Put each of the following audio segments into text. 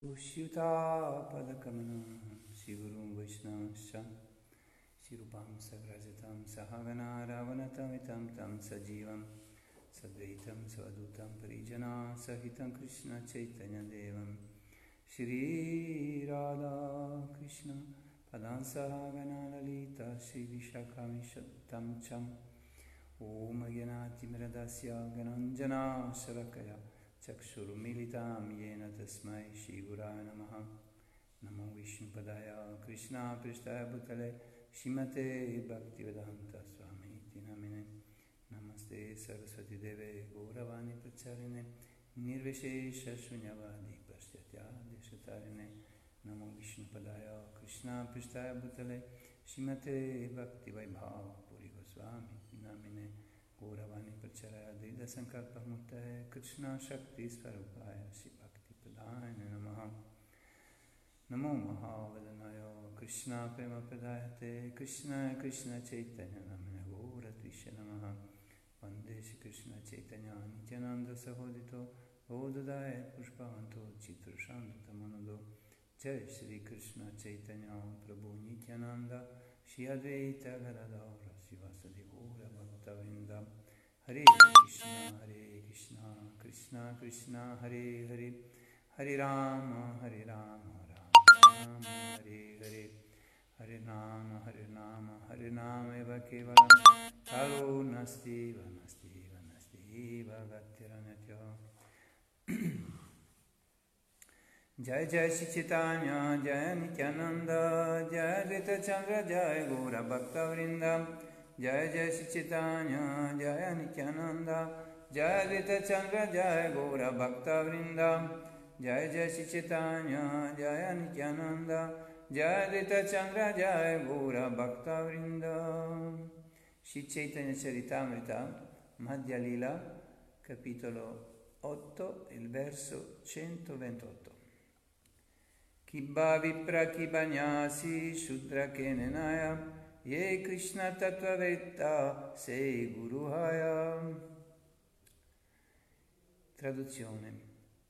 Ushyuta padakamanam Sigurum Vaishnavascha Sirupam Sagrajatam Sahagana Ravanatamitam Tam Sajivam Sadvaitam Svadutam Parijana Sahitam Krishna Chaitanya Devam Shri Radha Krishna Padan Sahagana Lalita Shri Vishakamishatam Cham Om Ayanati Miradasya Gananjana Sarakaya Chakshurumilitam Yena Tasmai Shri Guraya Namaha Namo Vishnupadaya Krishna Prishtaya Bhutale Shrimate Bhaktivedanta Swami Iti Namine Namaste Saraswati Deve Gauravani Pracharine Nirvishesha Shunyavadi Paschatya Deshatarine Namo Vishnupadaya Krishna Prishtaya Bhutale Shrimate Bhaktivaibhava Puri Goswami Iti Namine Gauravani Pracharaya Dida Sankalpa Murtaye Krishna Shakti Swarupaya Shri Bhakti Pradayane Namaha Namo Mahavadanaya Krishna Prema Pradayate Krishna Krishna Chaitanya Namina Gaura Trisha Namaha Vande Shri Krishna Chaitanya Nityananda Sahodito Godadaye Pushpavanto Chitrashanto Tamanado Jai Shri Krishna Chaitanya Prabhu Nityananda Shri Advaita Garadara Sivasadi Gaura Bhaktavrinda Hare Krishna Krishna Krishna Hare Hare Hare Rama Hare Rama Rama Hare Hare Hare Rama Hare Rama Eva Kevalam Kalo Nasti Vanasti Vanasti Bhagatiranyatya Jai Jai Shri Chaitanya Jai Nityananda Jai Advaita Chandra Jai Gaura Bhakta Vrinda Jai Jai Shri Chaitanya Jai Nityananda Jai Advaita Chandra Jai Gaura Bhakta Vrinda Jai Jai Shri Chaitanya Jai Nityananda Jai Advaita Chandra Jai Gaura Bhakta Vrinda. Shri Chaitanya Charitamrita Madhya Lila capitolo 8 il verso 128. Kibba Vipra Kibanyasi Shudra Kenenaya Ye Krishna Tattvavetta Sei Guruhaya. Traduzione.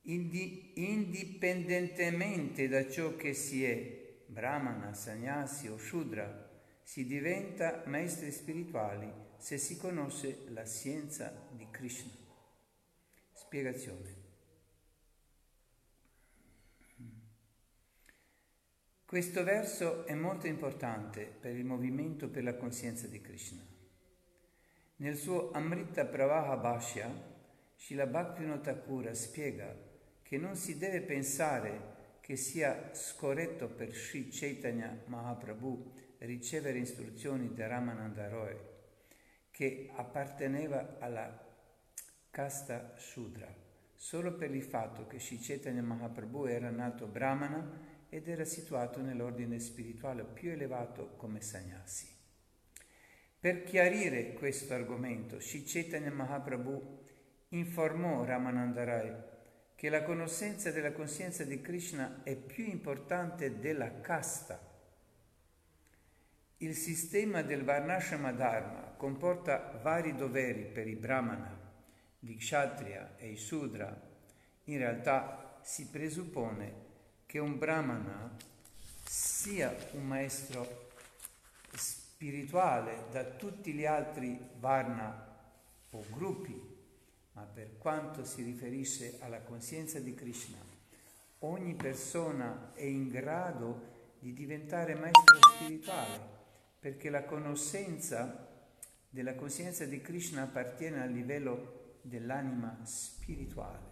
Indipendentemente da ciò che si è, Brahmana, Sannyasi o Shudra, si diventa maestri spirituali se si conosce la scienza di Krishna. Spiegazione. Questo verso è molto importante per il movimento per la coscienza di Krishna. Nel suo Amrita Pravaha Bhashya, Srila Bhaktivinoda Thakura spiega che non si deve pensare che sia scorretto per Sri Chaitanya Mahaprabhu ricevere istruzioni da Ramananda Roy, che apparteneva alla casta Shudra, solo per il fatto che Sri Chaitanya Mahaprabhu era nato Brahmana ed era situato nell'ordine spirituale più elevato come Sannyasi. Per chiarire questo argomento, Sri Chaitanya Mahaprabhu informò Ramananda Rai che la conoscenza della coscienza di Krishna è più importante della casta. Il sistema del Varnashrama Dharma comporta vari doveri per i Brahmana, gli Kshatriya e i Sudra. In realtà si presuppone che un Brahmana sia un maestro spirituale da tutti gli altri Varna o gruppi, ma per quanto si riferisce alla coscienza di Krishna, ogni persona è in grado di diventare maestro spirituale, perché la conoscenza della coscienza di Krishna appartiene al livello dell'anima spirituale.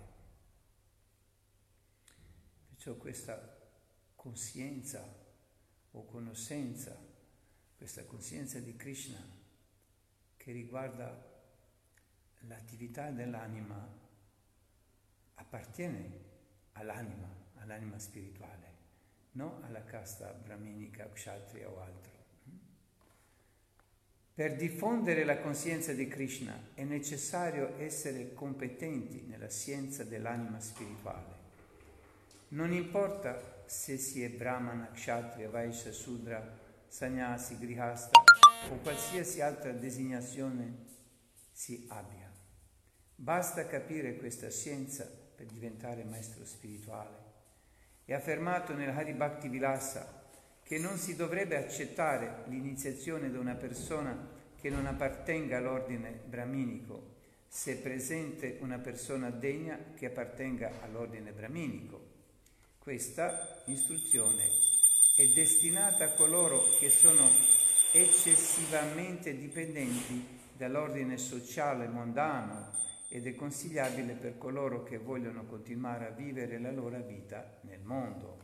Perciò questa coscienza o conoscenza, questa coscienza di Krishna che riguarda l'attività dell'anima appartiene all'anima spirituale, non alla casta brahminica, kshatriya o altro. Per diffondere la coscienza di Krishna è necessario essere competenti nella scienza dell'anima spirituale. Non importa se si è brahmana, kshatriya, vaishya, sudra, sannyasi, grihasta o qualsiasi altra designazione si abbia. Basta capire questa scienza per diventare maestro spirituale È affermato nel Hari Bhakti Vilasa che non si dovrebbe accettare l'iniziazione da una persona che non appartenga all'ordine brahminico, se presente una persona degna che appartenga all'ordine brahminico. Questa istruzione è destinata a coloro che sono eccessivamente dipendenti dall'ordine sociale mondano ed è consigliabile per coloro che vogliono continuare a vivere la loro vita nel mondo.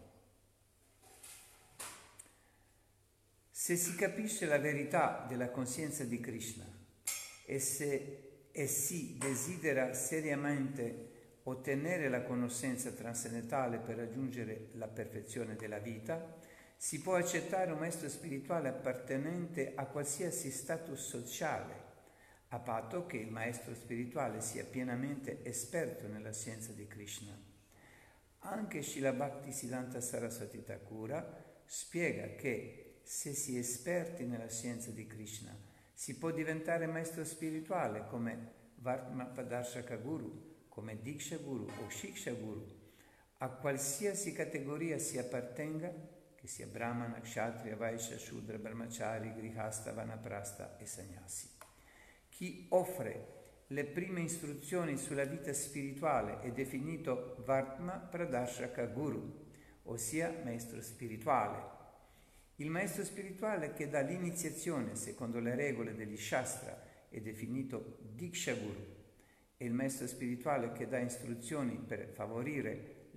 Se si capisce la verità della coscienza di Krishna e si desidera seriamente ottenere la conoscenza trascendentale per raggiungere la perfezione della vita, si può accettare un maestro spirituale appartenente a qualsiasi status sociale, a patto che il maestro spirituale sia pienamente esperto nella scienza di Krishna. Anche Srila Bhaktisiddhanta Saraswati Thakura spiega che se si è esperti nella scienza di Krishna si può diventare maestro spirituale come Vartmapadarshaka Guru, come Diksha Guru o Shiksha Guru, a qualsiasi categoria si appartenga, che sia Brahmana, Kshatriya, Vaishya, Shudra, Brahmachari, Grihasta, Vanaprastha e Sannyasi. Chi offre le prime istruzioni sulla vita spirituale è definito Vartma Pradarshaka Guru, ossia maestro spirituale. Il maestro spirituale che dà l'iniziazione secondo le regole degli Shastra è definito Diksha Guru e il maestro spirituale che dà istruzioni per favorire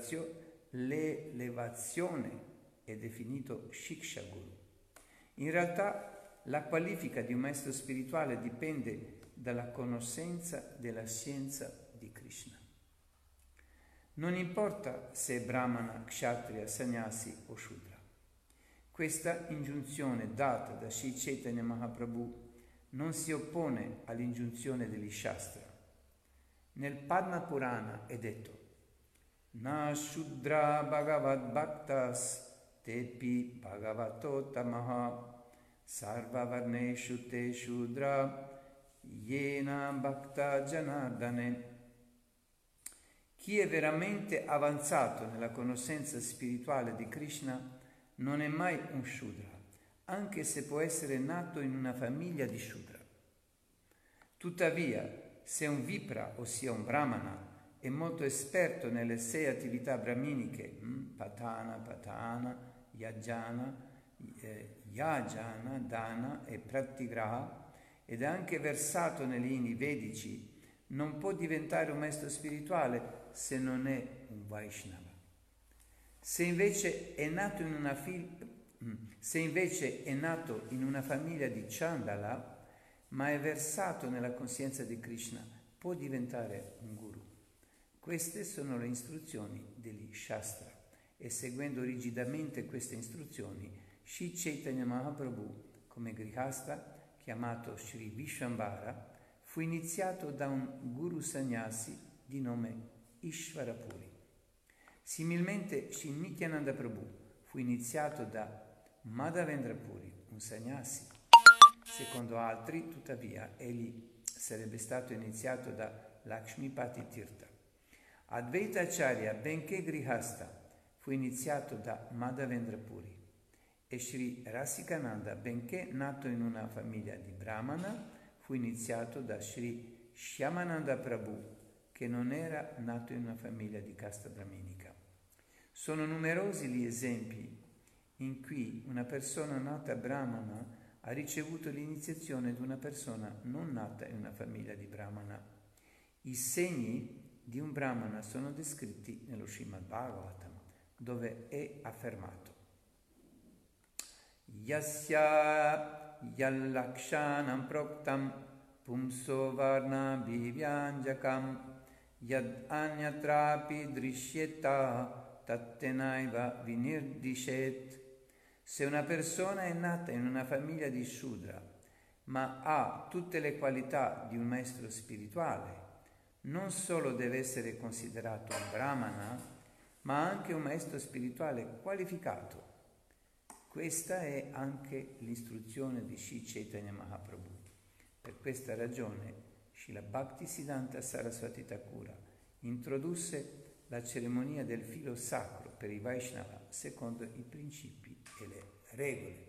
l'elevazione è definito Shiksha Guru. In realtà la qualifica di un maestro spirituale dipende dalla conoscenza della scienza di Krishna. Non importa se è Brahmana, Kshatriya, Sannyasi o Shudra. Questa ingiunzione data da Sri Chaitanya Mahaprabhu non si oppone all'ingiunzione degli Shastra. Nel Padma Purana è detto Na Shudra Bhagavad Bhaktas Tepi Bhagavato Tamaha Sarva Varneshu Te Shudra Yena Bhakta Janardane. Chi è veramente avanzato nella conoscenza spirituale di Krishna non è mai un Shudra, anche se può essere nato in una famiglia di Shudra. Tuttavia, se un Vipra, ossia un Brahmana, è molto esperto nelle 6 attività brahminiche, Patana, Yajana, Dana e Pratigraha, ed è anche versato negli inni vedici, non può diventare un maestro spirituale se non è un Vaishnava. Se invece è nato in una famiglia di Chandala, ma è versato nella coscienza di Krishna, può diventare un guru. Queste sono le istruzioni degli Shastra e seguendo rigidamente queste istruzioni, Sri Chaitanya Mahaprabhu, come Grihasta, chiamato Sri Vishvambara, fu iniziato da un guru sannyasi di nome Ishvarapuri. Similmente Sri Nityananda Prabhu fu iniziato da Madhavendra Puri, un sannyasi. Secondo altri, tuttavia, egli sarebbe stato iniziato da Lakshmipati Tirtha. Advaita Acharya, benché Grihasta, fu iniziato da Madhavendra Puri e Sri Rasikananda, benché nato in una famiglia di Brahmana, fu iniziato da Sri Shyamananda Prabhu, che non era nato in una famiglia di casta brahminica. Sono numerosi gli esempi in cui una persona nata Brahmana ha ricevuto l'iniziazione di una persona non nata in una famiglia di Brahmana. I segni di un Brahmana sono descritti nello Srimad Bhagavatam, dove è affermato Yasya yallakshanam proktam pumso varna bhivyanjakam yad anyatrapi drishyeta tattenaiva vinirdishet. Se una persona è nata in una famiglia di Shudra, ma ha tutte le qualità di un maestro spirituale, non solo deve essere considerato un Brahmana, ma anche un maestro spirituale qualificato. Questa è anche l'istruzione di Sri Chaitanya Mahaprabhu. Per questa ragione, Srila Bhaktisiddhanta Saraswati Thakura introdusse la cerimonia del filo sacro per i Vaishnava secondo i principi e le regole.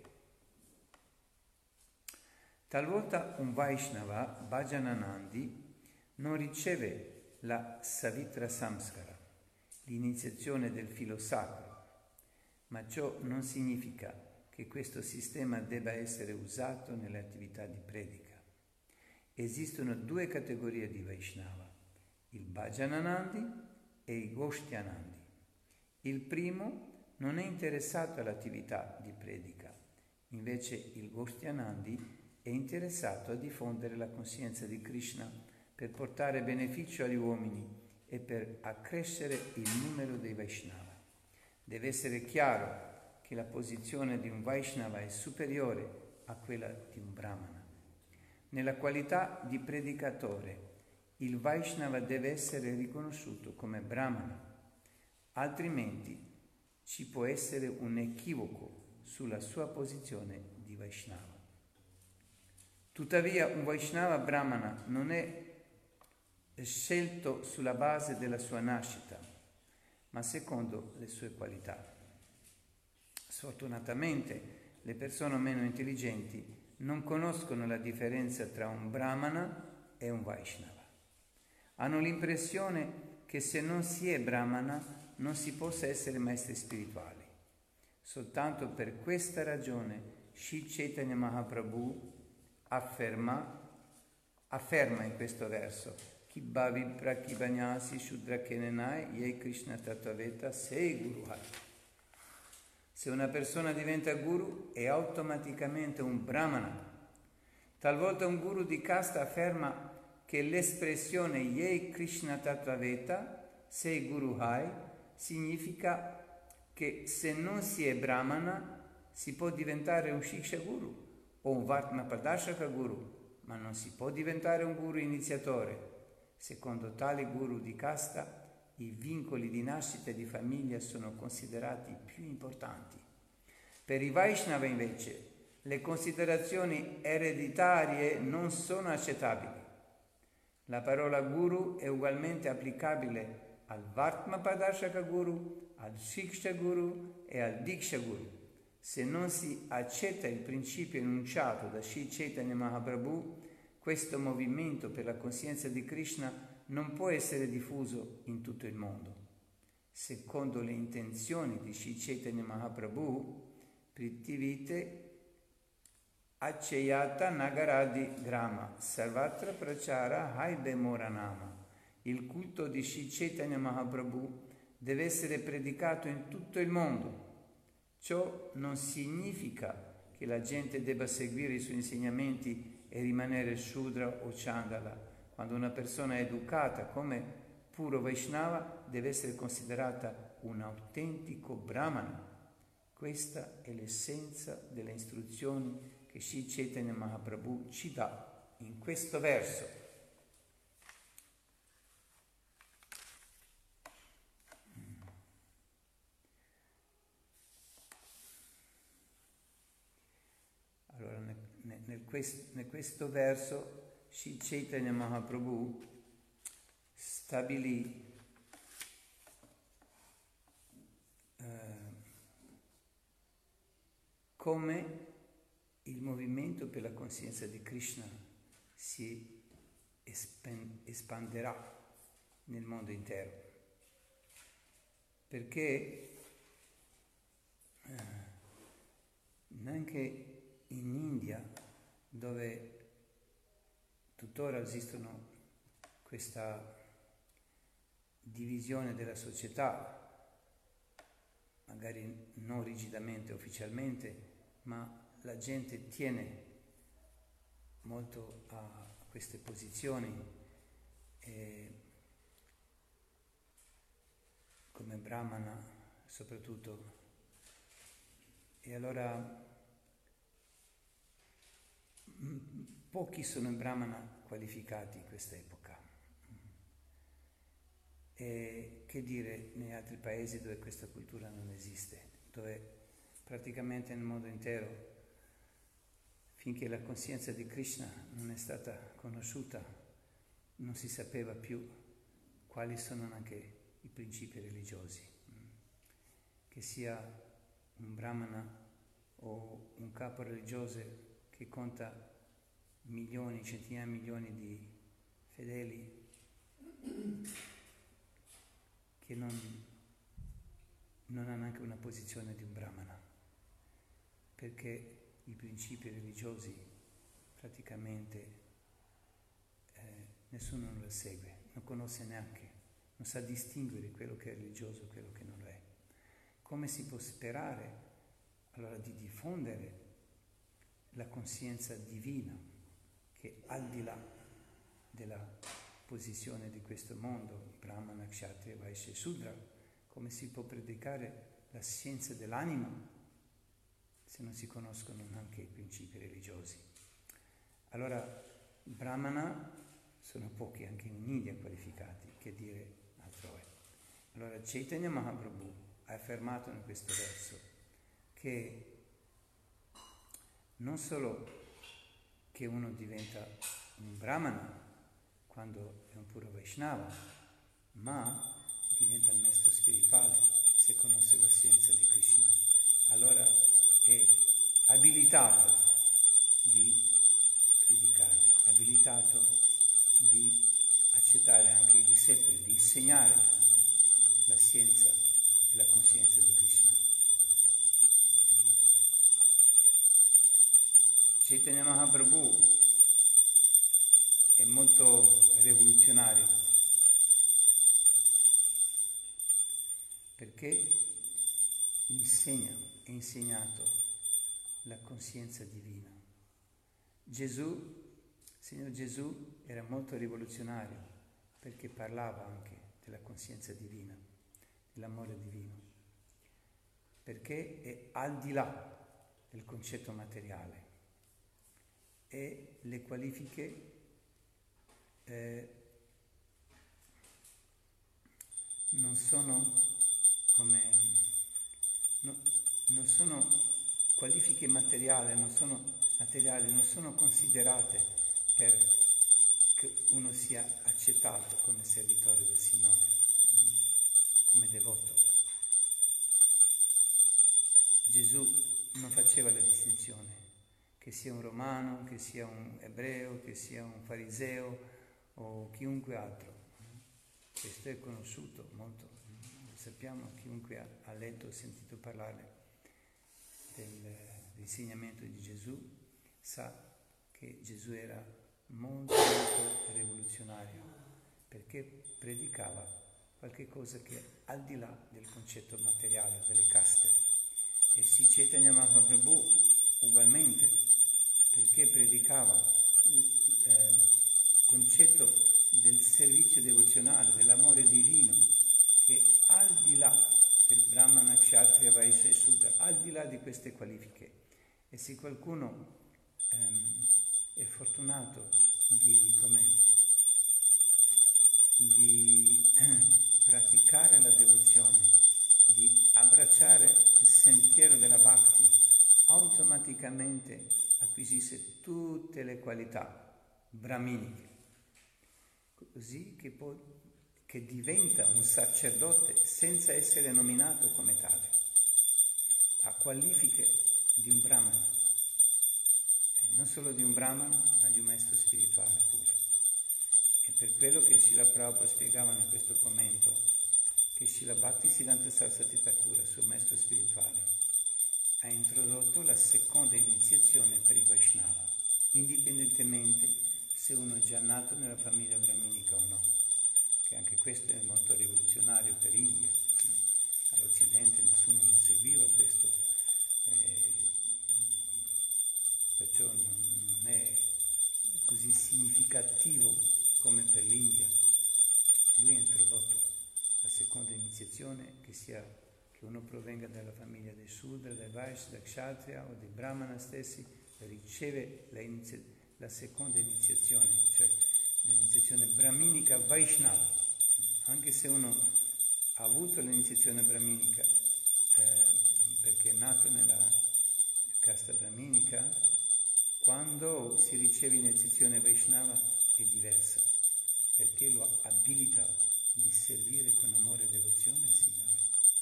Talvolta un Vaishnava Bhajananandi non riceve la Savitra Samskara, l'iniziazione del filo sacro, ma ciò non significa che questo sistema debba essere usato nelle attività di predica. Esistono due categorie di Vaishnava, il Bhajananandi e il Goshtianandi. Il primo non è interessato all'attività di predica, invece il Goshtianandi è interessato a diffondere la coscienza di Krishna per portare beneficio agli uomini e per accrescere il numero dei Vaishnava. Deve essere chiaro che la posizione di un Vaishnava è superiore a quella di un Brahmana. Nella qualità di predicatore, il Vaishnava deve essere riconosciuto come Brahmana, altrimenti ci può essere un equivoco sulla sua posizione di Vaishnava. Tuttavia, un Vaishnava Brahmana non è scelto sulla base della sua nascita, ma secondo le sue qualità. Sfortunatamente, le persone meno intelligenti non conoscono la differenza tra un Brahmana e un Vaishnava. Hanno l'impressione che se non si è Brahmana non si possa essere maestri spirituali. Soltanto per questa ragione Sri Chaitanya Mahaprabhu afferma in questo verso: Ki bhavi prakibanyasi shudra kenenai ye Krishna tattaveta sei guru hai. Se una persona diventa guru è automaticamente un brahmana. Talvolta un guru di casta afferma che l'espressione ye Krishna tattaveta sei guru hai significa che se non si è brahmana si può diventare un shiksha guru o un Vartma Pradashaka guru, ma non si può diventare un guru iniziatore. Secondo tali guru di casta, i vincoli di nascita e di famiglia sono considerati più importanti. Per i Vaishnava invece, le considerazioni ereditarie non sono accettabili. La parola guru è ugualmente applicabile al Vartma Pradashaka guru, al Shiksha guru e al Diksha guru. Se non si accetta il principio enunciato da Sri Chaitanya Mahaprabhu, questo movimento per la coscienza di Krishna non può essere diffuso in tutto il mondo. Secondo le intenzioni di Sri Chaitanya Mahaprabhu, Prithivite Accheyata Nagaradi Grama Sarvatra Prachara Haibe Moranama. Il culto di Sri Chaitanya Mahaprabhu deve essere predicato in tutto il mondo. Ciò non significa che la gente debba seguire i suoi insegnamenti e rimanere Shudra o Chandala. Quando una persona è educata come puro Vaishnava deve essere considerata un autentico Brahmana. Questa è l'essenza delle istruzioni che Sri Chaitanya Mahaprabhu ci dà in questo verso. Allora, nel questo verso Sri Chaitanya Mahaprabhu stabilì come il movimento per la coscienza di Krishna si espanderà nel mondo intero. Perché neanche in India, dove tuttora esistono questa divisione della società, magari non rigidamente, ufficialmente, ma la gente tiene molto a queste posizioni come Brahmana soprattutto. E allora pochi sono in Brahmana qualificati in questa epoca. E che dire negli altri paesi dove questa cultura non esiste, dove praticamente nel mondo intero, finché la coscienza di Krishna non è stata conosciuta, non si sapeva più quali sono anche i principi religiosi, che sia un brahmana o un capo religioso che conta milioni, centinaia di milioni di fedeli, che non ha neanche una posizione di un brahmana, perché i principi religiosi praticamente nessuno lo segue, non conosce neanche, non sa distinguere quello che è religioso e quello che non lo è. Come si può sperare allora di diffondere la coscienza divina che al di là della posizione di questo mondo, Brahmana, Kshatriya, Vaishya e Sudra, come si può predicare la scienza dell'anima se non si conoscono neanche i principi religiosi? Allora, Brahmana sono pochi anche in India qualificati, che dire altrove. Allora Chaitanya Mahaprabhu ha affermato in questo verso che non solo che uno diventa un Brahmana quando è un puro Vaishnava, ma diventa il maestro spirituale se conosce la scienza di Krishna. Allora è abilitato di predicare, abilitato di accettare anche i discepoli, di insegnare la scienza e la coscienza di Krishna. Chaitanya Mahaprabhu è molto rivoluzionario perché insegna e insegnato la coscienza divina. Signor Gesù era molto rivoluzionario perché parlava anche della coscienza divina, dell'amore divino, perché è al di là del concetto materiale e le qualifiche non sono qualifiche materiali, non sono considerate per che uno sia accettato come servitore del Signore, come devoto. Gesù non faceva la distinzione che sia un romano, che sia un ebreo, che sia un fariseo o chiunque altro. Questo è conosciuto molto, lo sappiamo, chiunque ha letto o sentito parlare dell'insegnamento di Gesù sa che Gesù era molto rivoluzionario perché predicava qualche cosa che è al di là del concetto materiale, delle caste. E Sri Chaitanya Mahaprabhu ugualmente, perché predicava il concetto del servizio devozionale, dell'amore divino, che al di là del Brahmana, Kshatriya, Vaishya e Sudra, al di là di queste qualifiche. E se qualcuno è fortunato di praticare la devozione, di abbracciare il sentiero della Bhakti, automaticamente acquisisce tutte le qualità brahminiche, così che diventa un sacerdote senza essere nominato come tale, ha qualifiche di un brahmana, non solo di un brahmana, ma di un maestro spirituale pure. E per quello che Srila Prabhupada spiegava in questo commento, che Srila Bhaktisiddhanta Saraswati Thakura, suo maestro spirituale, ha introdotto la seconda iniziazione per i Vaishnava, indipendentemente se uno è già nato nella famiglia brahminica o no, che anche questo è molto rivoluzionario per l'India. All'Occidente nessuno non seguiva questo, perciò non è così significativo come per l'India. Lui ha introdotto la seconda iniziazione, che uno provenga dalla famiglia dei Sudra, dai Vaishya, da Kshatriya o dei Brahmana stessi, riceve la seconda iniziazione, cioè l'iniziazione brahminica Vaishnava. Anche se uno ha avuto l'iniziazione brahminica perché è nato nella casta brahminica, quando si riceve l'iniziazione Vaishnava è diversa, perché lo abilita di servire con amore e devozione al Signore.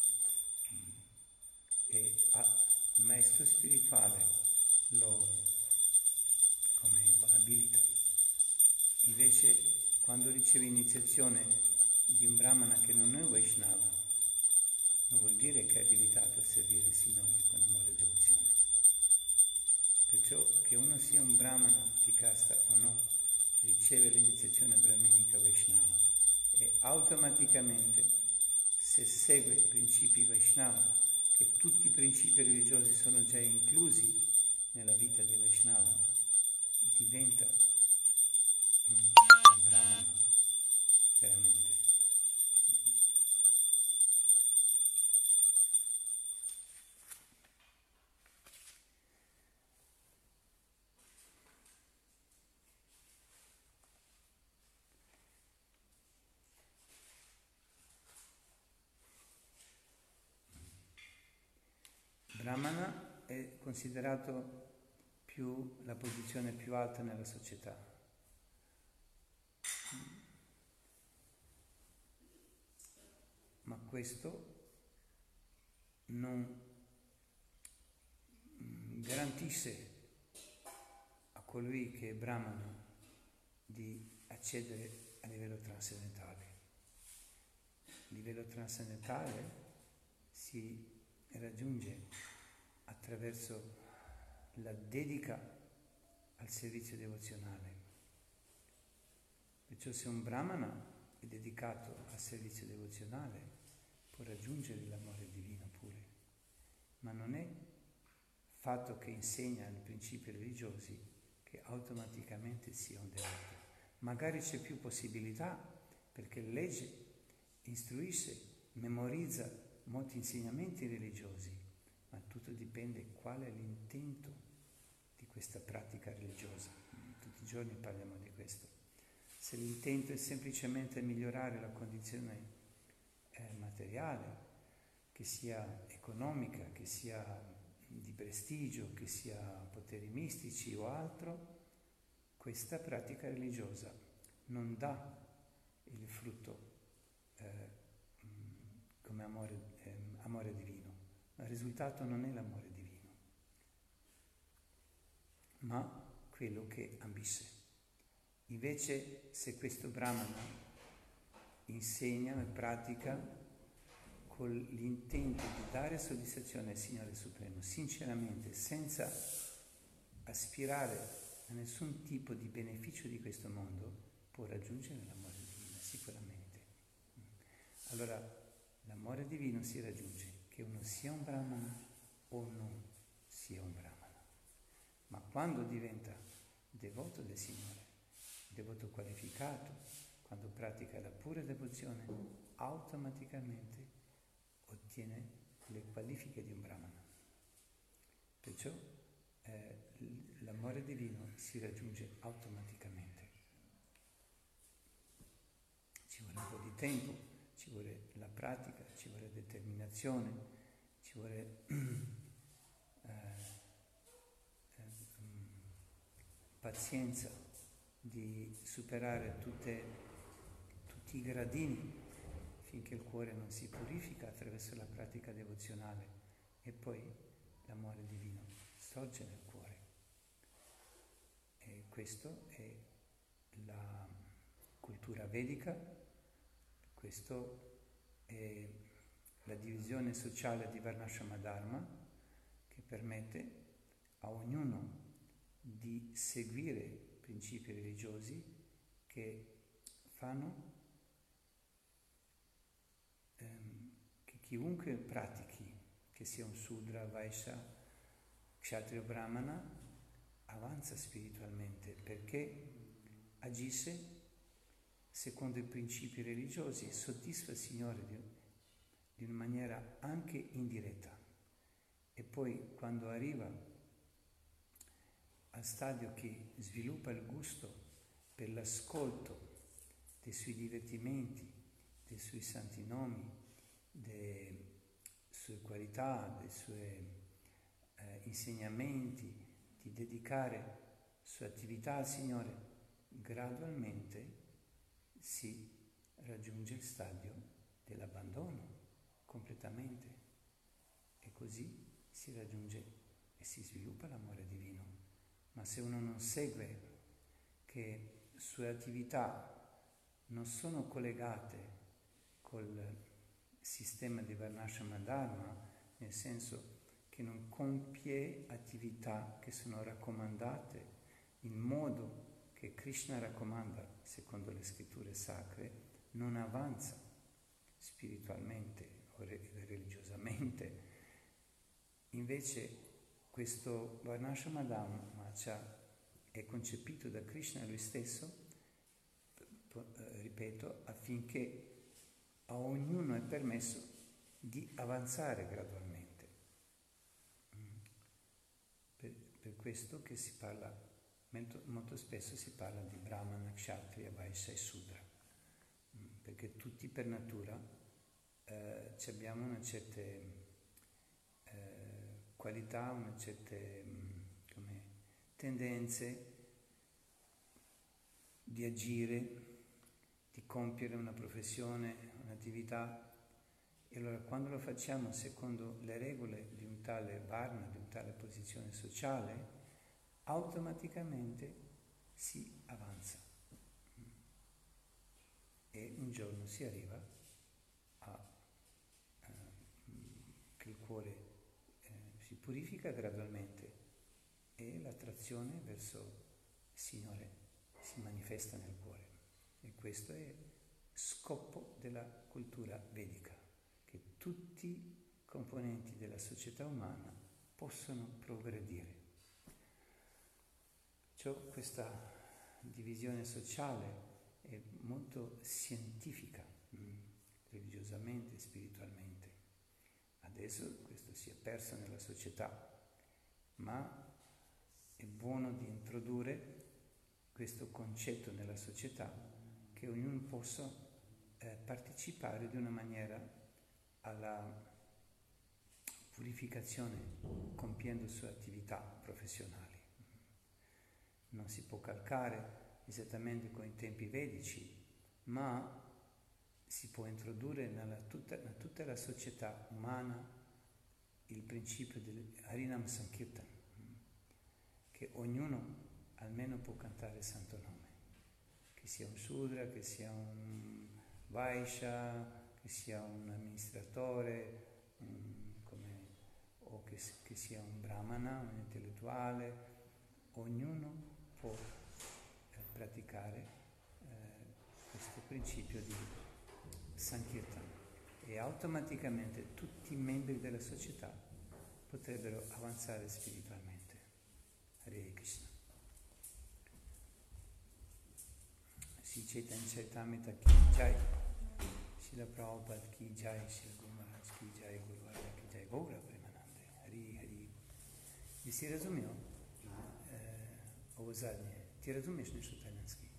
E il maestro spirituale lo abilita. Invece, quando riceve iniziazione di un brahmana che non è un Vaishnava, non vuol dire che è abilitato a servire il Signore con amore e devozione. Perciò che uno sia un brahmana di casta o no, riceve l'iniziazione brahminica Vaishnava e automaticamente, se segue i principi Vaishnava, che tutti i principi religiosi sono già inclusi nella vita dei Vaishnava, diventa un brahmana veramente. Brahmana è considerato la posizione più alta nella società. Ma questo non garantisce a colui che è Brahmana di accedere a livello trascendentale. Il livello trascendentale si raggiunge attraverso la dedica al servizio devozionale. Perciò se un Brahmana è dedicato al servizio devozionale può raggiungere l'amore divino pure, ma non è fatto che insegna i principi religiosi che automaticamente sia un devoto. Magari c'è più possibilità perché legge, istruisce, memorizza molti insegnamenti religiosi, ma tutto dipende qual è l'intento di questa pratica religiosa. Tutti i giorni parliamo di questo. Se l'intento è semplicemente migliorare la condizione materiale, che sia economica, che sia di prestigio, che sia poteri mistici o altro, questa pratica religiosa non dà il frutto come amore divino. Il risultato non è l'amore divino, ma quello che ambisce. Invece, se questo Brahmana insegna e pratica con l'intento di dare soddisfazione al Signore Supremo, sinceramente, senza aspirare a nessun tipo di beneficio di questo mondo, può raggiungere l'amore divino, sicuramente. Allora, l'amore divino si raggiunge che uno sia un Brahmana o non sia un Brahmana. Ma quando diventa devoto del Signore, devoto qualificato, quando pratica la pura devozione, automaticamente ottiene le qualifiche di un Brahmana. Perciò l'amore divino si raggiunge automaticamente. Ci vuole un po' di tempo, ci vuole la pratica, ci vuole determinazione, ci vuole pazienza di superare tutti i gradini finché il cuore non si purifica attraverso la pratica devozionale e poi l'amore divino sorge nel cuore. E questo è la cultura vedica, questo è la divisione sociale di Varnashrama Dharma che permette a ognuno di seguire principi religiosi che fanno che chiunque pratichi, che sia un Sudra, Vaishya, Kshatriya, Brahmana, avanza spiritualmente perché agisce secondo i principi religiosi e soddisfa il Signore di una maniera anche indiretta. E poi quando arriva al stadio che sviluppa il gusto per l'ascolto dei suoi divertimenti, dei suoi santi nomi, delle sue qualità, dei suoi insegnamenti, di dedicare sua attività al Signore, gradualmente si raggiunge il stadio dell'abbandono completamente, e così si raggiunge e si sviluppa l'amore divino. Ma se uno non segue, che sue attività non sono collegate col sistema di Varnashama Dharma, nel senso che non compie attività che sono raccomandate in modo che Krishna raccomanda secondo le scritture sacre, non avanza spiritualmente o religiosamente. Invece questo Varnashama Dhamma è concepito da Krishna lui stesso, ripeto, affinché a ognuno è permesso di avanzare gradualmente. Per questo che si parla, molto spesso si parla di Brahmana, Kshatriya, Vaishya e Sudra, perché tutti per natura abbiamo una certa qualità, una certa tendenze di agire, di compiere una professione, un'attività, e allora quando lo facciamo secondo le regole di un tale varna, di un tale posizione sociale, automaticamente si avanza e un giorno si arriva a che il cuore si purifica gradualmente e l'attrazione verso il Signore si manifesta nel cuore. E questo è scopo della cultura vedica, che tutti i componenti della società umana possono progredire. Questa divisione sociale è molto scientifica, religiosamente e spiritualmente. Adesso questo si è perso nella società, ma è buono di introdurre questo concetto nella società, che ognuno possa partecipare di una maniera alla purificazione compiendo sue attività professionali. Non si può calcare esattamente con i tempi vedici, ma si può introdurre nella tutta la società umana il principio del Harinam Sankirtan, che ognuno almeno può cantare il santo nome, che sia un Shudra, che sia un Vaishya, che sia un amministratore, o che sia un Brahmana, un intellettuale. Ognuno può praticare questo principio di Sankirtan e automaticamente tutti i membri della società potrebbero avanzare spiritualmente. Hare Krishna. Sri Chaitanya Charitamrita ki jai, Srila Prabhupada ki jai, Srila Guru Maharaj ki jai, Guru Varga ki jai, Gaura Premanande, Hari Hari. Jesi razumio ovo zadnje? Ti razumiješ nešto talijanski?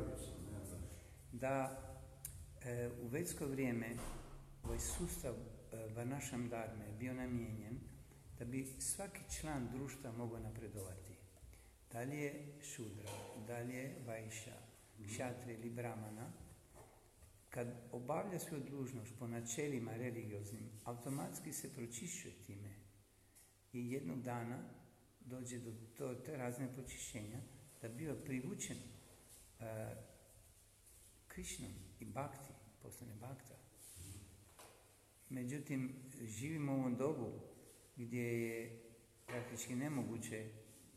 Da u vedsko vrijeme ovaj sustav Varnashram Dharme bio namijenjen da bi svaki član društva mogao napredovati. Da li je Šudra, da li je Vaishya, Kshatriya ili Brahmana, kad obavlja svoju dužnost po načelima religioznim, automatski se pročišćuje time i jednog dana dođe do te razne pročišćenja da biva privučen Krišnom i Bhakti, postane Bhakta. Međutim, živimo u ovom dobu gdje je praktički nemoguće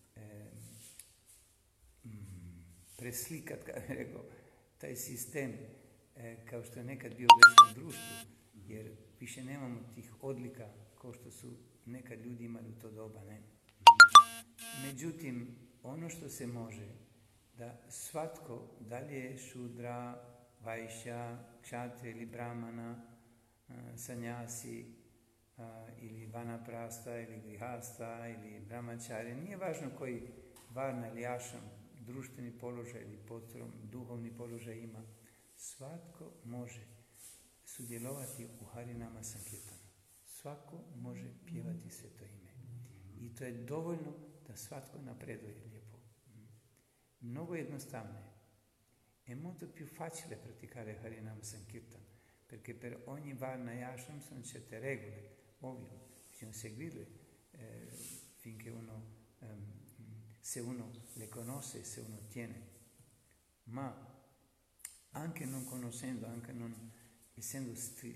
preslikat, kako bih rekao, taj sistem kao što je nekad bio u verskom društvu, jer više nemamo tih odlika kao što su nekad ljudi imali u to doba, ne? Međutim, ono što se može, da svatko, da li je Šudra, Vaishya, Kshatriya ili Brahmana, sanjasi ili vanaprasta ili grihasta ili brahmachari, nije važno koji varna ili ašram, društveni položaj ili duhovni položaj ima, svatko može sudjelovati u Harinama Sankirtanu. Svako može pjevati sveto ime. I to je dovoljno da svatko napreduje lijepo. Mnogo jednostavno je. è molto più facile praticare Harinam Sankirtan, perché per ogni Varna e Ashram sono certe regole, ovvio, bisogna seguirle finché se uno le conosce, se uno tiene. Ma anche non conoscendo, anche non essendo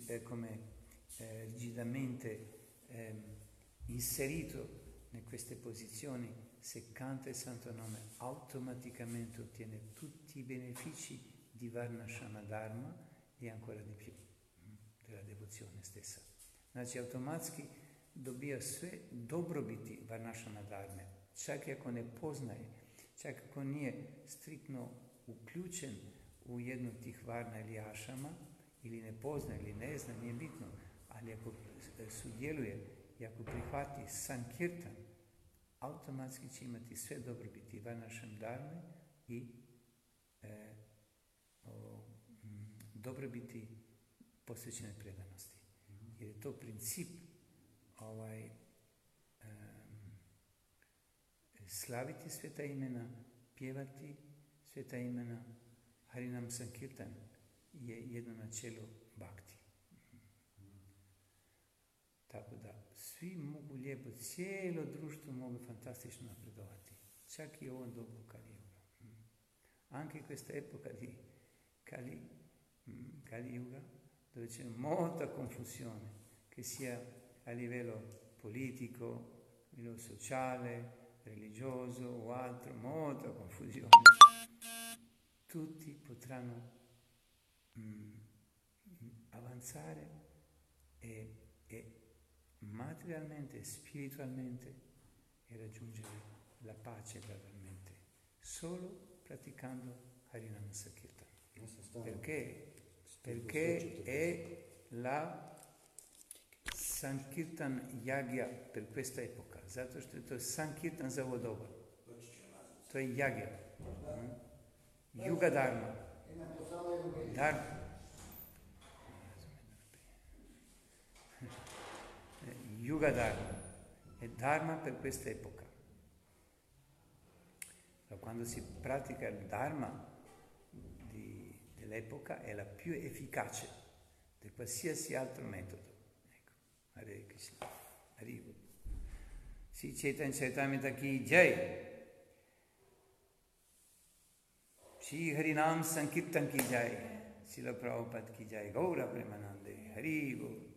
rigidamente inserito in queste posizioni, se canta il santo nome automaticamente ottiene tutti i benefici di Varnashama Dharma e ancora di più della devozione stessa. Znači automatski dobija sve dobrobiti Varnashama Dharme, čak i ako ne poznaje, čak ako nije striktno uključen u jednu tih varna ili ašama, ili ne poznaje, ili ne zna, nije bitno, ali ako sudjeluje i ako prihvati Sankirtan, automatski će imati sve dobrobiti Varnashama Dharme i dobrobiti posvećene predanosti. Jer je to princip slaviti sveta imena, pjevati sveta imena. Harinam Sankirtan je jedno načelo bhakti. Tako da svi mogu lijepo, cijelo društvo mogu fantastično napredovati, čak i u ovom dobu Kali Yuga. Anche in questa epoca di Kali Yuga, dove c'è molta confusione, che sia a livello politico, a livello sociale, religioso o altro, molta confusione. Tutti potranno avanzare e materialmente, spiritualmente e raggiungere la pace gradualmente, solo praticando Harinam Sankirtan. Perché è la Sankirtan Yagya per questa epoca. Zato što je to Sankirtan za ovo doba. To je Yagya. Yuga Dharma. Yuga Dharma. È Dharma per questa epoca. Quando si pratica il Dharma dell'epoca è la più efficace di qualsiasi altro metodo. Ecco. Hare Krishna. Hare Sri Chaitanya Charitamrita ki jai. Shri Harinam Sankirtan ki jai. Srila Prabhupada ki jai. Gaura Premanande. Hare Guru.